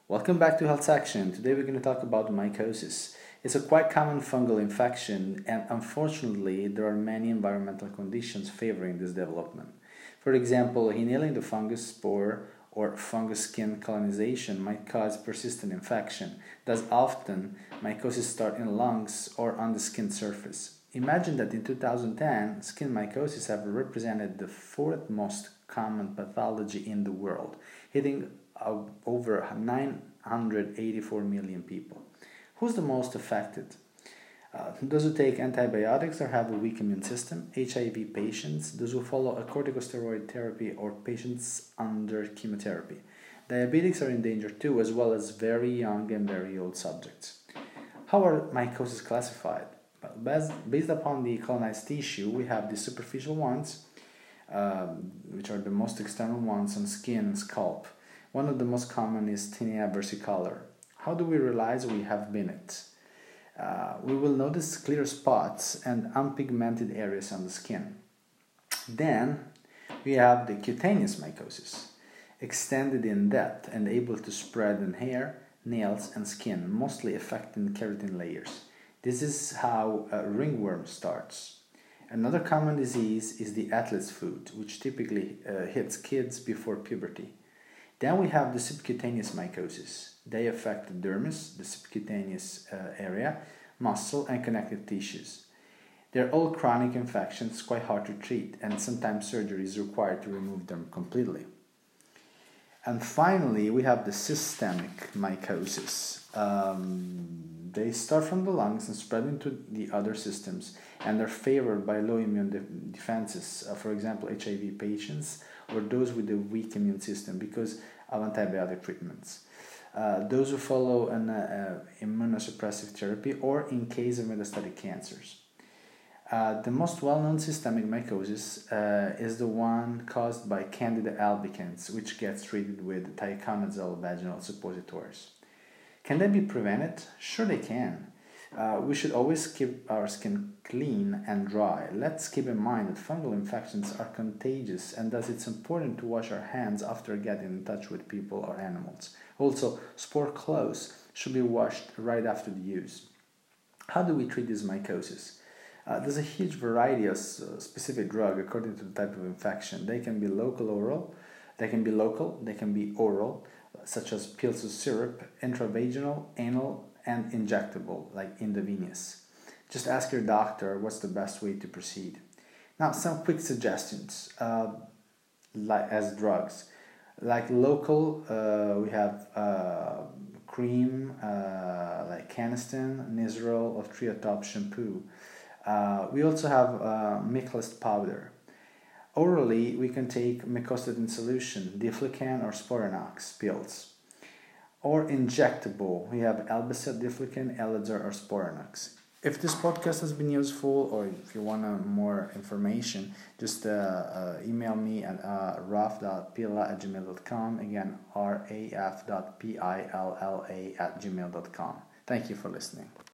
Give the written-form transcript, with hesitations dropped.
Welcome back to Health Section. Today we're going to talk about mycosis. It's a quite common fungal infection, and unfortunately there are many environmental conditions favoring this development. For example, inhaling the fungus spore or fungus skin colonization might cause persistent infection. Thus often mycosis start in lungs or on the skin surface. Imagine that in 2010, skin mycosis have represented the fourth most common pathology in the world, hitting over 984 million people. Who's the most affected? Those who take antibiotics or have a weak immune system, HIV patients, those who follow a corticosteroid therapy, or patients under chemotherapy. Diabetics are in danger too, as well as very young and very old subjects. How are mycosis classified? Well, based upon the colonized tissue, we have the superficial ones, which are the most external ones on skin and scalp. One of the most common is tinea versicolor. How do we realize we have it? We will notice clear spots and unpigmented areas on the skin. Then we have the cutaneous mycosis, extended in depth and able to spread in hair, nails, and skin, mostly affecting keratin layers. This is how ringworm starts. Another common disease is the athlete's foot, which typically hits kids before puberty. Then we have the subcutaneous mycosis. They affect the dermis, the subcutaneous area, muscle, and connective tissues. They're all chronic infections, quite hard to treat, and sometimes surgery is required to remove them completely. And finally, we have the systemic mycosis. They start from the lungs and spread into the other systems, and are favored by low immune defenses, for example, HIV patients or those with a weak immune system because of antibiotic treatments. Those who follow an immunosuppressive therapy, or in case of metastatic cancers. The most well-known systemic mycosis is the one caused by Candida albicans, which gets treated with thiaconazole vaginal suppositories. Can they be prevented? Sure they can. We should always keep our skin clean and dry. Let's keep in mind that fungal infections are contagious, and thus it's important to wash our hands after getting in touch with people or animals. Also, spore clothes should be washed right after the use. How do we treat this mycosis? There's a huge variety of specific drugs according to the type of infection. They can be local, they can be oral, such as pills or syrup, intravaginal, anal, and injectable, like intravenous. Just ask your doctor what's the best way to proceed. Now, some quick suggestions as drugs. Like local, we have cream, like Canesten, Nizoral, or Triatop shampoo. We also have Miclist powder. Orally, we can take mycostatin solution, Diflucan or Sporanox pills. Or injectable, we have Elbacet, Diflucan, Elixir, or Sporanox. If this podcast has been useful, or if you want more information, just email me at raf.pilla@gmail.com. Again, raf.pilla@gmail.com. Thank you for listening.